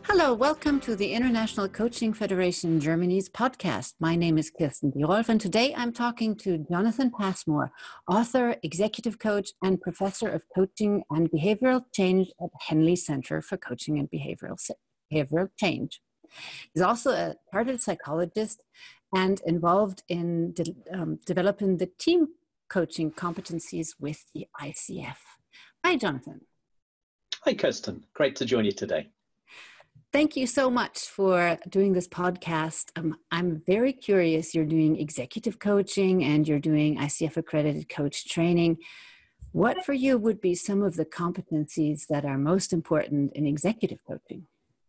Hello, welcome to the International Coaching Federation Germany's podcast. My name is Kirsten Birolf, and today I'm talking to Jonathan Passmore, author, executive coach, and professor of coaching and behavioral change at Henley Center for Coaching and Behavioral Change. He's also a chartered psychologist and involved in developing the team coaching competencies with the ICF. Hi, Jonathan. Hi, Kirsten. Great to join you today. Thank you so much for doing this podcast. I'm very curious. You're doing executive coaching and you're doing ICF accredited coach training. What for you would be some of the competencies that are most important in executive coaching?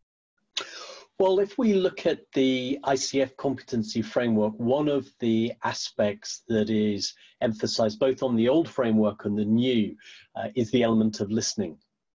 Well, if we look at the ICF competency framework, one of the aspects that is emphasized both on the old framework and the new is the element of listening.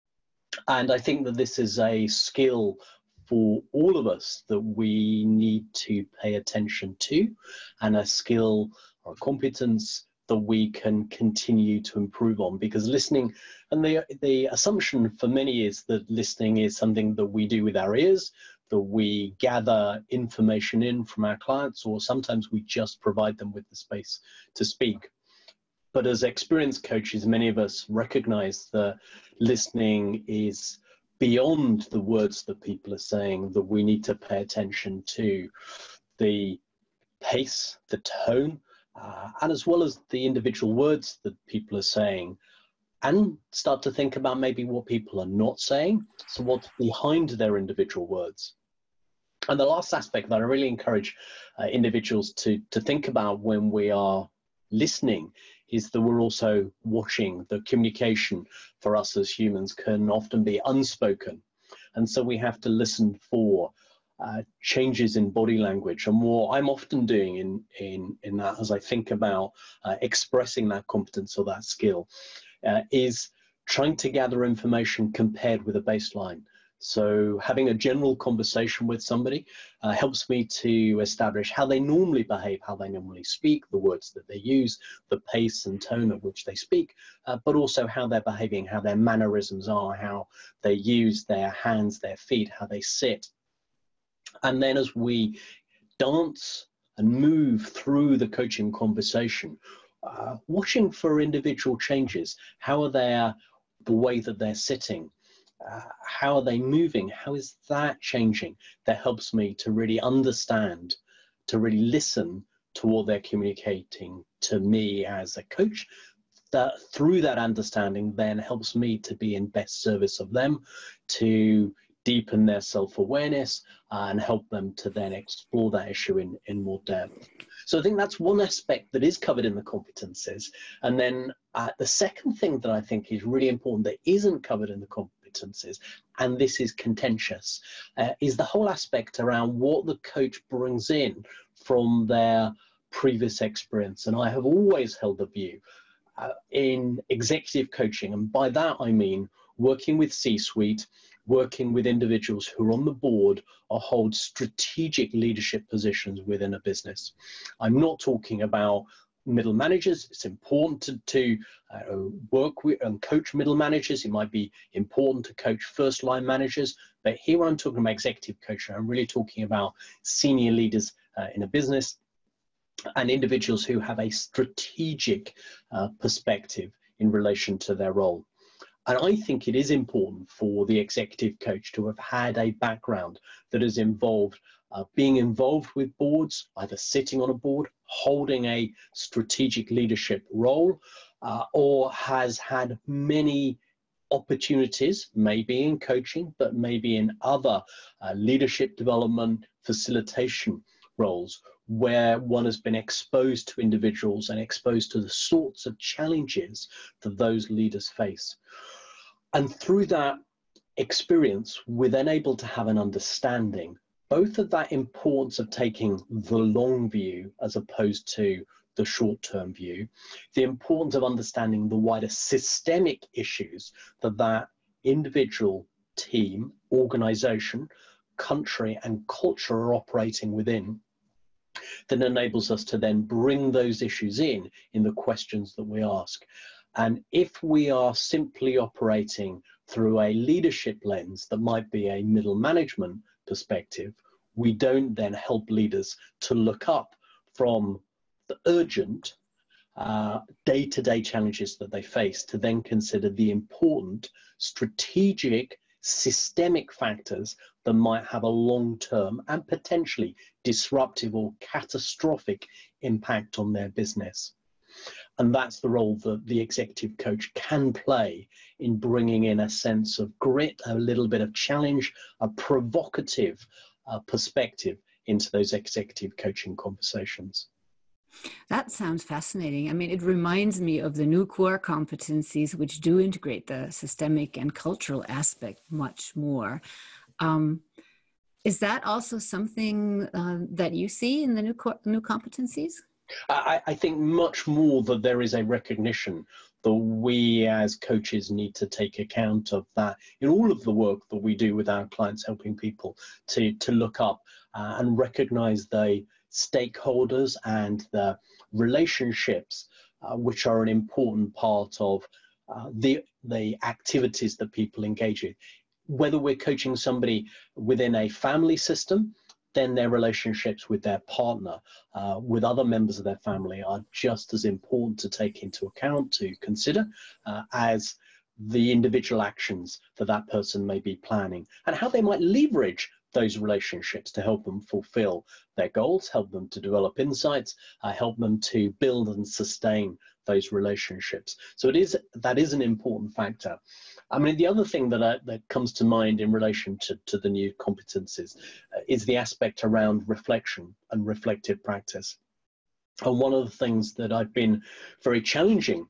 And I think that this is a skill for all of us that we need to pay attention to, and a skill or a competence that we can continue to improve on, because listening, and the assumption for many is that listening is something that we do with our ears, that we gather information in from our clients, or sometimes we just provide them with the space to speak. But as experienced coaches, many of us recognize that listening is beyond the words that people are saying, that we need to pay attention to the pace, the tone, and as well as the individual words that people are saying, and start to think about maybe what people are not saying, so what's behind their individual words. And the last aspect that I really encourage individuals to think about when we are listening is that we're also watching. The communication for us as humans can often be unspoken, and so we have to listen for changes in body language. And what I'm often doing in that, as I think about expressing that competence or that skill, is trying to gather information compared with a baseline. So having a general conversation with somebody helps me to establish how they normally behave, how they normally speak, the words that they use, the pace and tone at which they speak, but also how they're behaving, how their mannerisms are, how they use their hands, their feet, how they sit. And then as we dance and move through the coaching conversation, watching for individual changes. How are they, the way that they're sitting? How are they moving? How is that changing? That helps me to really understand, to really listen to what they're communicating to me as a coach. That through that understanding then helps me to be in best service of them, to deepen their self-awareness and help them to then explore that issue in more depth. So I think that's one aspect that is covered in the competencies. And then the second thing that I think is really important that isn't covered in the competencies, and this is contentious, is the whole aspect around what the coach brings in from their previous experience. And I have always held the view in executive coaching, and by that I mean working with C-suite, working with individuals who are on the board or hold strategic leadership positions within a business. I'm not talking about middle managers. It's important to work with and coach middle managers. It might be important to coach first line managers, but here I'm talking about executive coaching. I'm really talking about senior leaders in a business and individuals who have a strategic perspective in relation to their role. And I think it is important for the executive coach to have had a background that is involved, being involved with boards, either sitting on a board, holding a strategic leadership role, or has had many opportunities, maybe in coaching, but maybe in other leadership development, facilitation roles, where one has been exposed to individuals and exposed to the sorts of challenges that those leaders face. And through that experience, we're then able to have an understanding, both of that importance of taking the long view as opposed to the short-term view, the importance of understanding the wider systemic issues that that individual, team, organization, country, and culture are operating within, that enables us to then bring those issues in the questions that we ask. And if we are simply operating through a leadership lens that might be a middle management perspective, we don't then help leaders to look up from the urgent day-to-day challenges that they face to then consider the important strategic systemic factors that might have a long-term and potentially disruptive or catastrophic impact on their business. And that's the role that the executive coach can play in bringing in a sense of grit, a little bit of challenge, a provocative perspective into those executive coaching conversations. That sounds fascinating. I mean, it reminds me of the new core competencies, which do integrate the systemic and cultural aspect much more. Is that also something that you see in the new competencies? I think much more that there is a recognition that we as coaches need to take account of that in all of the work that we do with our clients, helping people to look up and recognize the stakeholders and the relationships which are an important part of the activities that people engage in. Whether we're coaching somebody within a family system, then their relationships with their partner, with other members of their family are just as important to take into account, to consider, as the individual actions that that person may be planning and how they might leverage those relationships to help them fulfill their goals, help them to develop insights, help them to build and sustain those relationships. So that is an important factor. I mean, the other thing that comes to mind in relation to the new competencies is the aspect around reflection and reflective practice. And one of the things that I've been very challenging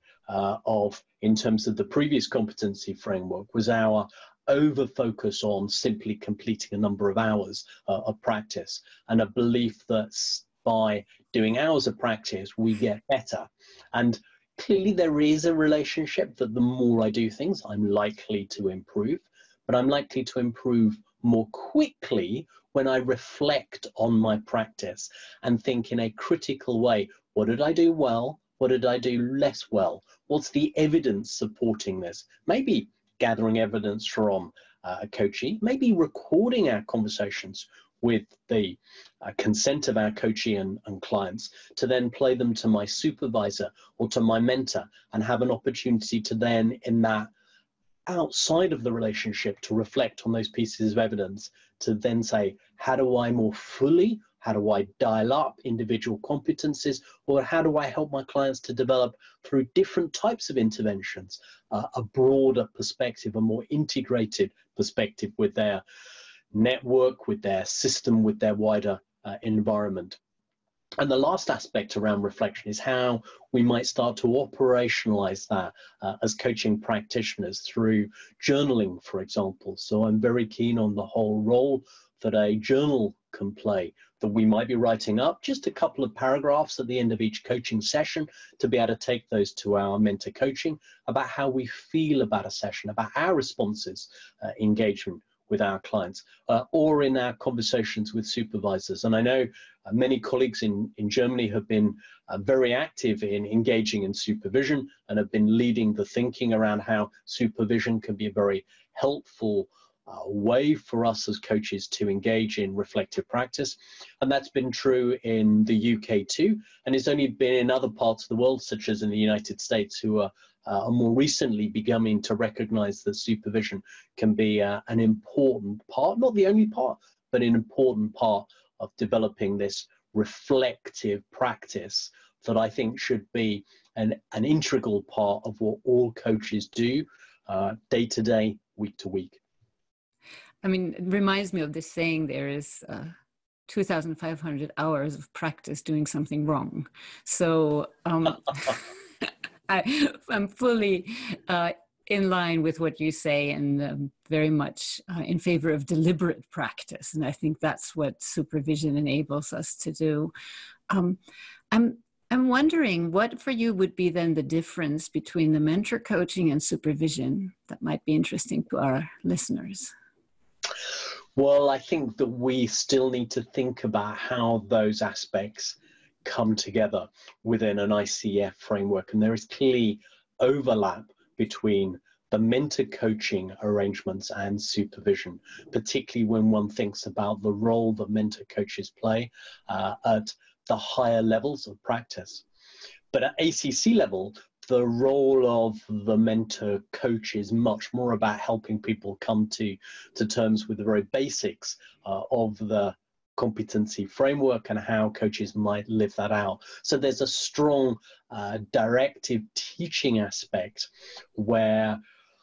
of in terms of the previous competency framework was our over focus on simply completing a number of hours of practice, and a belief that by doing hours of practice we get better. And clearly there is a relationship that the more I do things, I'm likely to improve, but I'm likely to improve more quickly when I reflect on my practice and think in a critical way, what did I do well? What did I do less well? What's the evidence supporting this? Maybe gathering evidence from a coachee, maybe recording our conversations with the consent of our coachee and clients to then play them to my supervisor or to my mentor and have an opportunity to then, in that outside of the relationship, to reflect on those pieces of evidence, to then say, how do I more fully, how do I dial up individual competencies, or how do I help my clients to develop through different types of interventions, a broader perspective, a more integrated perspective with their network, with their system, with their wider environment. And the last aspect around reflection is how we might start to operationalize that as coaching practitioners through journaling, for example. So I'm very keen on the whole role that a journal can play, that we might be writing up just a couple of paragraphs at the end of each coaching session to be able to take those to our mentor coaching about how we feel about a session, about our responses, engagement with our clients, or in our conversations with supervisors. And I know many colleagues in Germany have been very active in engaging in supervision and have been leading the thinking around how supervision can be a very helpful way for us as coaches to engage in reflective practice. And that's been true in the UK too, and it's only been in other parts of the world, such as in the United States, who are more recently beginning to recognize that supervision can be an important part, not the only part, but an important part of developing this reflective practice that I think should be an integral part of what all coaches do day to day, week to week. I mean, it reminds me of this saying, there is 2,500 hours of practice doing something wrong. So I'm fully in line with what you say, and very much in favor of deliberate practice. And I think that's what supervision enables us to do. I'm wondering what for you would be then the difference between the mentor coaching and supervision that might be interesting to our listeners. Well, I think that we still need to think about how those aspects come together within an ICF framework. And there is clearly overlap between the mentor coaching arrangements and supervision, particularly when one thinks about the role that mentor coaches play at the higher levels of practice. But at ACC level, the role of the mentor coach is much more about helping people come to terms with the very basics of the competency framework and how coaches might live that out. So there's a strong directive teaching aspect where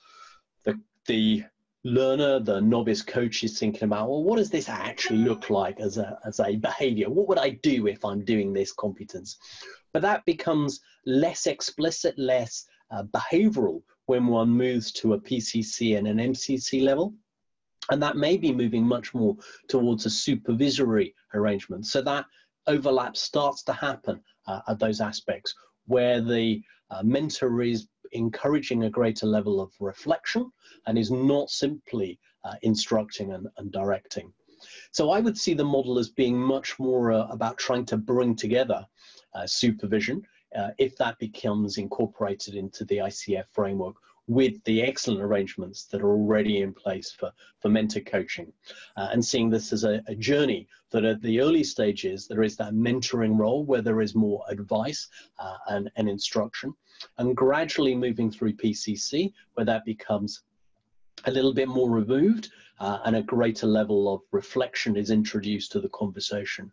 the learner, the novice coach, is thinking about, well, what does this actually look like as a behavior? What would I do if I'm doing this competence? But that becomes less explicit, less behavioral when one moves to a PCC and an MCC level. And that may be moving much more towards a supervisory arrangement. So that overlap starts to happen at those aspects where the mentor is encouraging a greater level of reflection and is not simply instructing and directing. So I would see the model as being much more about trying to bring together supervision, if that becomes incorporated into the ICF framework, with the excellent arrangements that are already in place for mentor coaching, and seeing this as a journey that at the early stages there is that mentoring role where there is more advice and instruction, and gradually moving through PCC where that becomes a little bit more removed and a greater level of reflection is introduced to the conversation.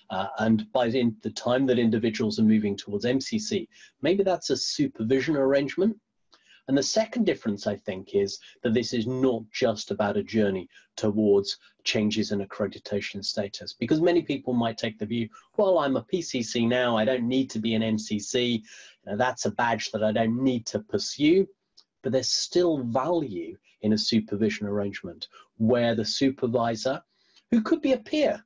And by the time that individuals are moving towards MCC, maybe that's a supervision arrangement. And the second difference, I think, is that this is not just about a journey towards changes in accreditation status, because many people might take the view, well, I'm a PCC now, I don't need to be an MCC, that's a badge that I don't need to pursue. But there's still value in a supervision arrangement where the supervisor, who could be a peer,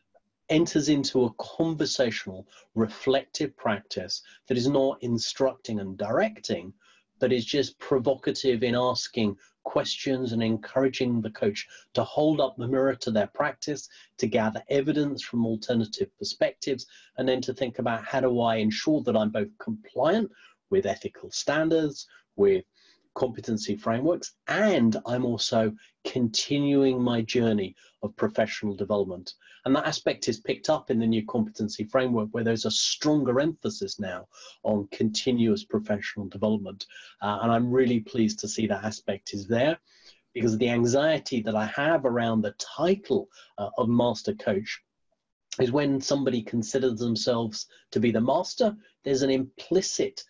enters into a conversational, reflective practice that is not instructing and directing, but is just provocative in asking questions and encouraging the coach to hold up the mirror to their practice, to gather evidence from alternative perspectives, and then to think about, how do I ensure that I'm both compliant with ethical standards, with competency frameworks, and I'm also continuing my journey of professional development. And that aspect is picked up in the new competency framework, where there's a stronger emphasis now on continuous professional development. And I'm really pleased to see that aspect is there, because the anxiety that I have around the title of master coach is when somebody considers themselves to be the master, there's an implicit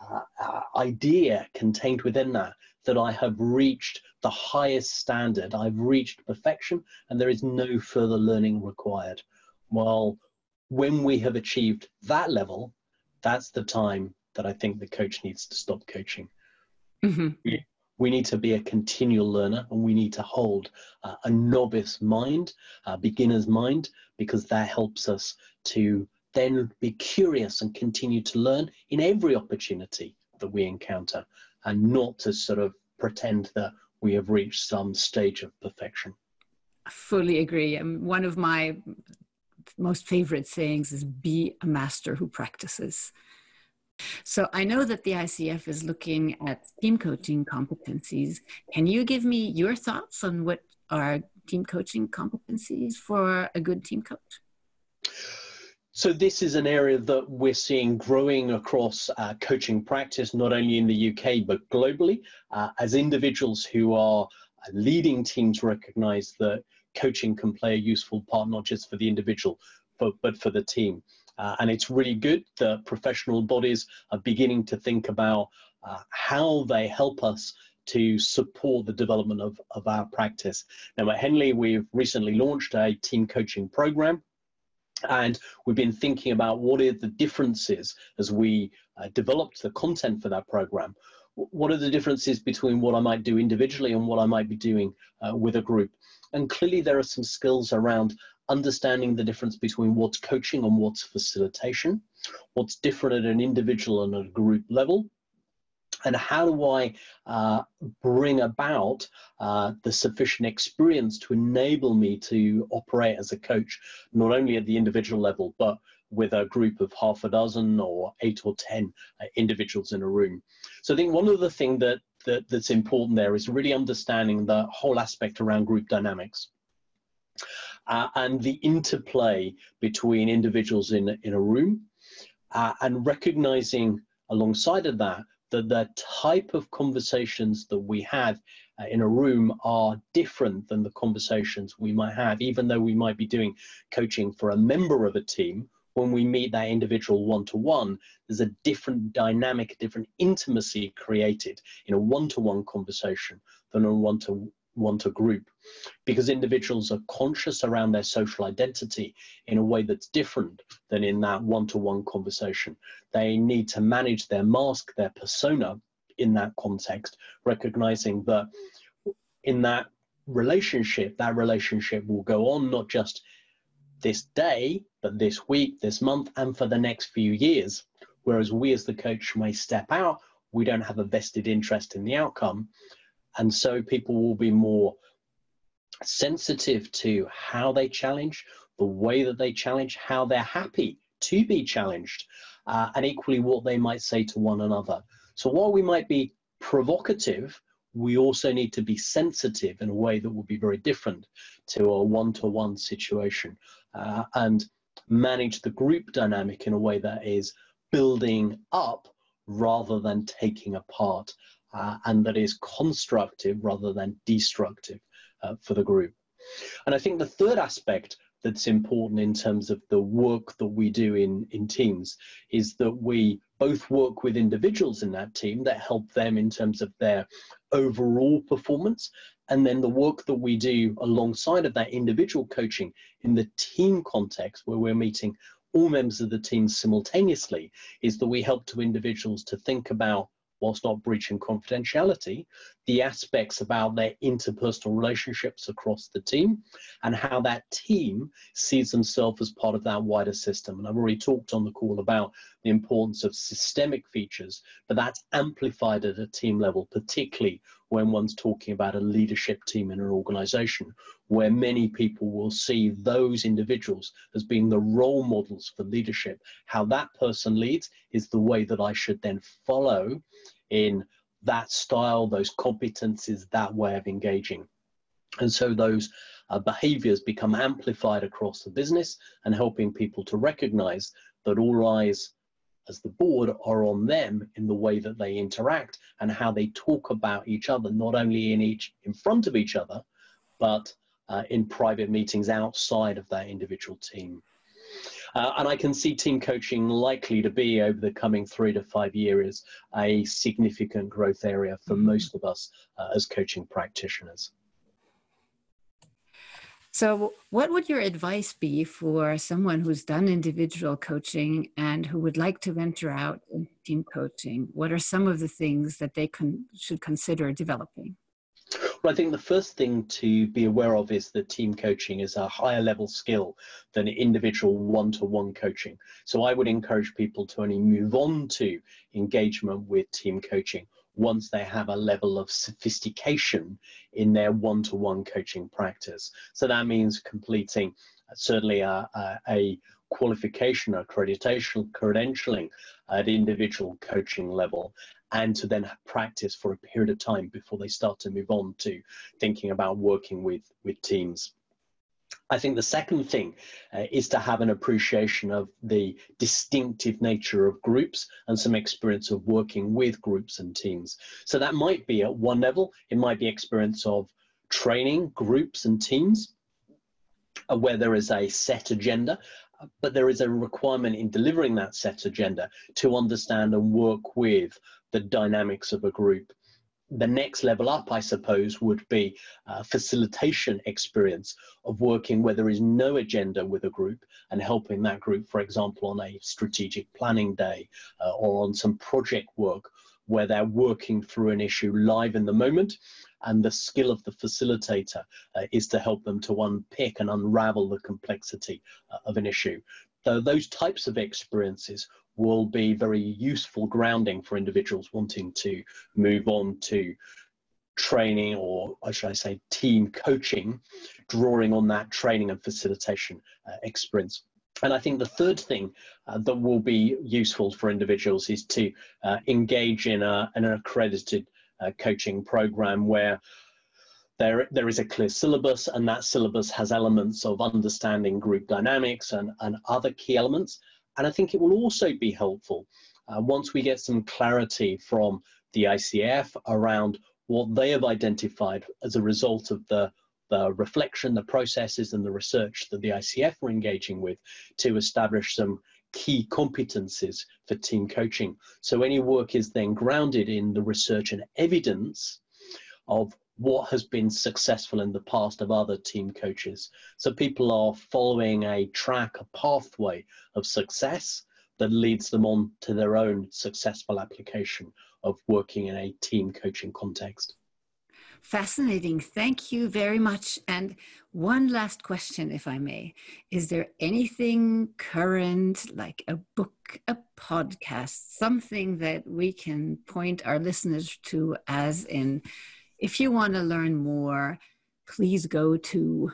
idea contained within that I have reached the highest standard, I've reached perfection, and there is no further learning required. Well, when we have achieved that level, that's the time that I think the coach needs to stop coaching. Mm-hmm. We need to be a continual learner, and we need to hold a novice mind, a beginner's mind, because that helps us to then be curious and continue to learn in every opportunity that we encounter, and not to sort of pretend that we have reached some stage of perfection. I fully agree. One of my most favorite sayings is, be a master who practices. So I know that the ICF is looking at team coaching competencies. Can you give me your thoughts on what are team coaching competencies for a good team coach? So this is an area that we're seeing growing across coaching practice, not only in the UK, but globally, as individuals who are leading teams recognize that coaching can play a useful part, not just for the individual, but for the team. And it's really good that professional bodies are beginning to think about how they help us to support the development of our practice. Now at Henley, we've recently launched a team coaching program, and we've been thinking about what are the differences as we developed the content for that program. What are the differences between what I might do individually and what I might be doing with a group? And clearly there are some skills around understanding the difference between what's coaching and what's facilitation, what's different at an individual and at a group level, And how do I bring about the sufficient experience to enable me to operate as a coach, not only at the individual level, but with a group of half a dozen or 8 or 10 individuals in a room. So I think one of the things that's important there is really understanding the whole aspect around group dynamics and the interplay between individuals in a room, and recognizing alongside of that the type of conversations that we have in a room are different than the conversations we might have, even though we might be doing coaching for a member of a team. When we meet that individual one-to-one, there's a different dynamic, a different intimacy created in a one-to-one conversation than a one-to group, because individuals are conscious around their social identity in a way that's different than in that one-to-one conversation. They need to manage their mask, their persona in that context, recognizing that in that relationship will go on not just this day, but this week, this month, and for the next few years. Whereas we as the coach may step out, we don't have a vested interest in the outcome. And so people will be more sensitive to how they challenge, the way that they challenge, how they're happy to be challenged, and equally what they might say to one another. So while we might be provocative, we also need to be sensitive in a way that will be very different to a one-to-one situation, and manage the group dynamic in a way that is building up rather than taking apart, and that is constructive rather than destructive for the group. And I think the third aspect that's important in terms of the work that we do in teams is that we both work with individuals in that team that help them in terms of their overall performance, and then the work that we do alongside of that individual coaching in the team context, where we're meeting all members of the team simultaneously, is that we help to individuals to think about, whilst not breaching confidentiality, the aspects about their interpersonal relationships across the team and how that team sees themselves as part of that wider system. And I've already talked on the call about the importance of systemic features, but that's amplified at a team level, particularly when one's talking about a leadership team in an organization, where many people will see those individuals as being the role models for leadership. How that person leads is the way that I should then follow in that style, those competencies, that way of engaging. And so those behaviors become amplified across the business, and helping people to recognize that all eyes as the board are on them in the way that they interact and how they talk about each other, not only in front of each other, but in private meetings outside of that individual team. And I can see team coaching likely to be, over the coming 3 to 5 years, a significant growth area for most of us as coaching practitioners. So what would your advice be for someone who's done individual coaching and who would like to venture out in team coaching? What are some of the things that they should consider developing? Well, I think the first thing to be aware of is that team coaching is a higher level skill than individual one-to-one coaching. So I would encourage people to only move on to engagement with team coaching once they have a level of sophistication in their one-to-one coaching practice. So that means completing certainly a qualification, accreditation, credentialing at individual coaching level, and to then practice for a period of time before they start to move on to thinking about working with teams. I think the second thing is to have an appreciation of the distinctive nature of groups and some experience of working with groups and teams. So that might be at one level, it might be experience of training groups and teams where there is a set agenda, but there is a requirement in delivering that set agenda to understand and work with the dynamics of a group. The next level up, I suppose, would be facilitation experience of working where there is no agenda with a group and helping that group, for example, on a strategic planning day or on some project work where they're working through an issue live in the moment. And the skill of the facilitator is to help them to unpick and unravel the complexity of an issue. So those types of experiences will be very useful grounding for individuals wanting to move on to training, or should I say team coaching, drawing on that training and facilitation experience. And I think the third thing that will be useful for individuals is to engage in an accredited coaching program where there is a clear syllabus, and that syllabus has elements of understanding group dynamics and other key elements. And I think it will also be helpful once we get some clarity from the ICF around what they have identified as a result of the reflection, the processes and the research that the ICF were engaging with, to establish some key competencies for team coaching. So any work is then grounded in the research and evidence of what has been successful in the past of other team coaches. So people are following a track, a pathway of success that leads them on to their own successful application of working in a team coaching context. Fascinating. Thank you very much. And one last question, if I may. Is there anything current, like a book, a podcast, something that we can point our listeners to, as in, if you want to learn more, please go to?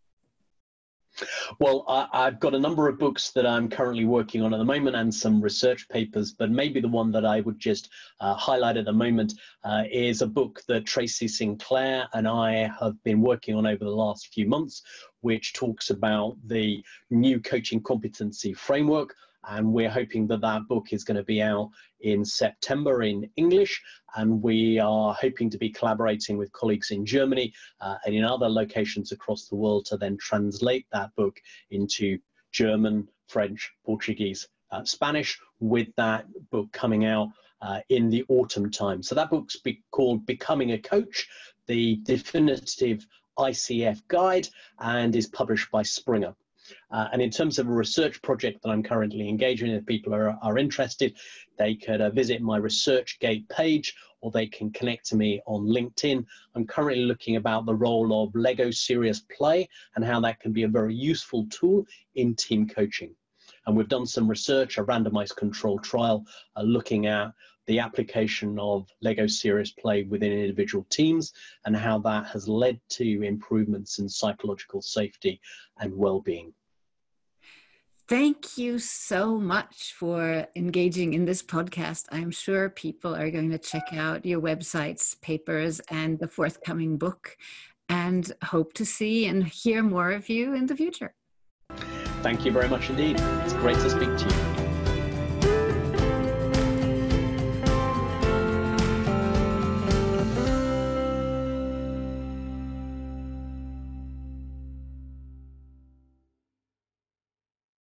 Well, I've got a number of books that I'm currently working on at the moment and some research papers, but maybe the one that I would just highlight at the moment is a book that Tracy Sinclair and I have been working on over the last few months, which talks about the new coaching competency framework. And we're hoping that that book is going to be out in September in English. And we are hoping to be collaborating with colleagues in Germany and in other locations across the world to then translate that book into German, French, Portuguese, Spanish, with that book coming out in the autumn time. So that book's called Becoming a Coach, the definitive ICF guide, and is published by Springer. And in terms of a research project that I'm currently engaged in, if people are interested, they could visit my ResearchGate page, or they can connect to me on LinkedIn. I'm currently looking about the role of Lego Serious Play and how that can be a very useful tool in team coaching. And we've done some research, a randomized controlled trial, looking at the application of Lego Serious Play within individual teams and how that has led to improvements in psychological safety and well-being. Thank you so much for engaging in this podcast. I'm sure people are going to check out your websites, papers, and the forthcoming book, and hope to see and hear more of you in the future. Thank you very much indeed. It's great to speak to you.